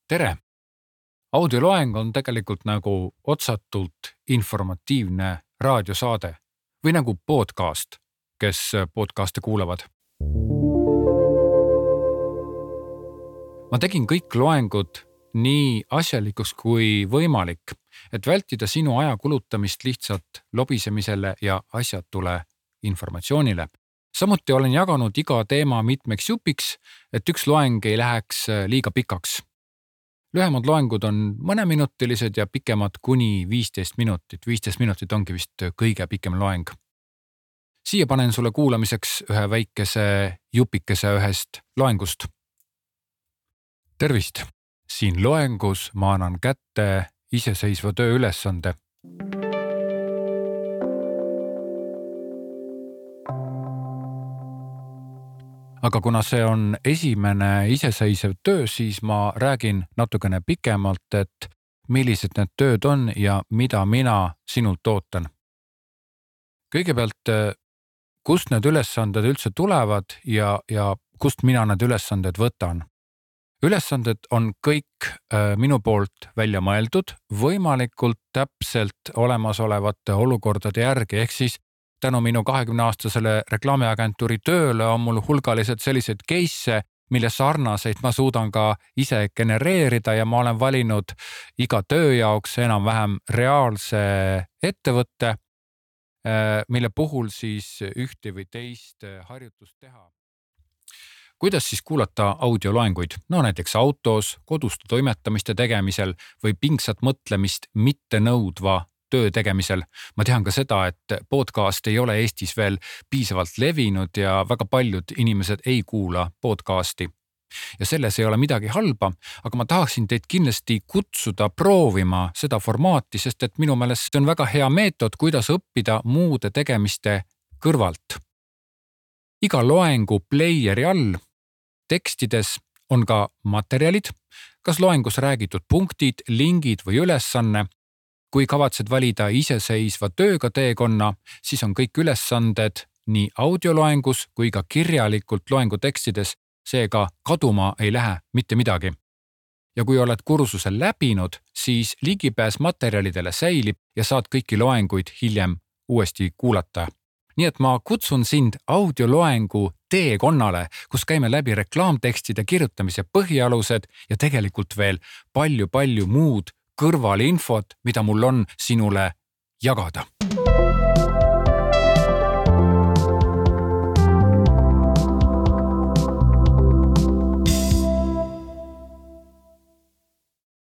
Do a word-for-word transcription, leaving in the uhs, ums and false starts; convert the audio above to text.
Tere! Audioloeng on tegelikult nagu otsatult informatiivne raadiosaade või nagu podcast, kes podcast'e kuulavad. Ma tegin kõik loengud nii asjalikuks kui võimalik, et vältida sinu aja kulutamist lihtsalt lobisemisele ja asjatule informatsioonile. Samuti olen jaganud iga teema mitmeks jupiks, et üks loeng ei läheks liiga pikaks. Lühemad loengud on mõneminutilised ja pikemad kuni viisteist minutit. viisteist minutit ongi vist kõige pikem loeng. Siia panen sulle kuulamiseks ühe väikese jupikese ühest loengust. Tervist! Siin loengus ma annan kätte iseseisva töö ülesande. Aga kuna see on esimene iseseisev töö, siis ma räägin natukene pikemalt, et millised need tööd on ja mida mina sinult ootan. Kõigepealt, kust need ülesanded üldse tulevad ja, ja kust mina need ülesanded võtan? Ülesanded on kõik minu poolt välja mõeldud, võimalikult täpselt olemasolevate olukordade järgi, ehk siis tänu minu kahekümne aastasele reklaamiagentuuri tööle on mul hulgaliselt sellised case, mille sarnaseid ma suudan ka ise genereerida ja ma olen valinud iga töö jaoks enam-vähem reaalse ettevõtte, mille puhul siis ühte või teist harjutust teha. Kuidas siis kuulata audioloenguid? No näiteks autos, koduste toimetamiste tegemisel või pingsat mõtlemist mitte nõudva töö tegemisel. Ma tean ka seda, et podcast ei ole Eestis veel piisavalt levinud ja väga paljud inimesed ei kuula podcasti. Ja selles ei ole midagi halba, aga ma tahaksin teid kindlasti kutsuda proovima seda formaati, sest et minu meelest see on väga hea meetod, kuidas õppida muude tegemiste kõrvalt. Iga loengu playeri all tekstides on ka materjalid, kas loengus räägitud punktid, lingid või ülesanne. Kui kavatsed valida iseseisva tööga teekonna, siis on kõik ülesanded nii audioloengus kui ka kirjalikult loengu tekstides, seega kaduma ei lähe mitte midagi. Ja kui oled kursuse läbinud, siis ligipääs materjalidele säilib ja saad kõiki loenguid hiljem uuesti kuulata. Nii et ma kutsun sind audioloengu teekonnale, kus käime läbi reklaamtekstide kirjutamise põhialused ja tegelikult veel palju-palju muud kõrvalinfot, mida mul on sinule jagada.